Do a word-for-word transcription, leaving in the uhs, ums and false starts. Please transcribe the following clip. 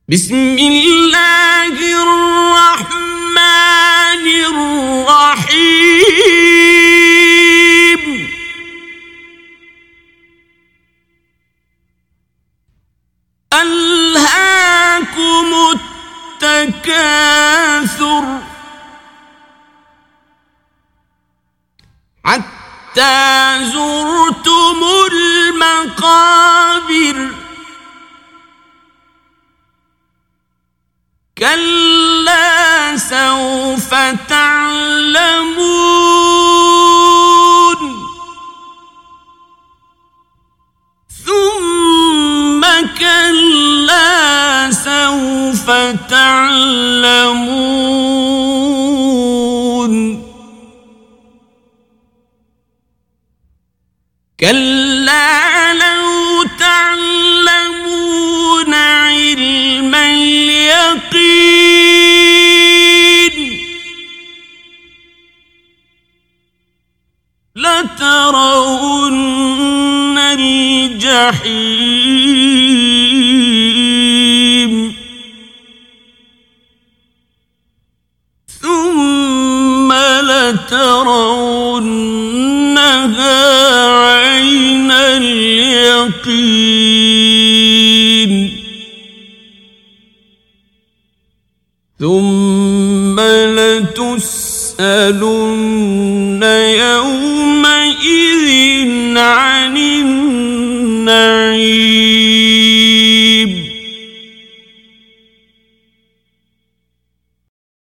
بسم الله الرحمن الرحيم ألهاكم التكاثر حتى زرتم المقابر كلا سوف تعلمون ثم كلا سوف تعلمون كلا لو تعلمون علم اليقين لترون الجحيم ثم لترونها عين اليقين ثم لتسألن يومئذ عن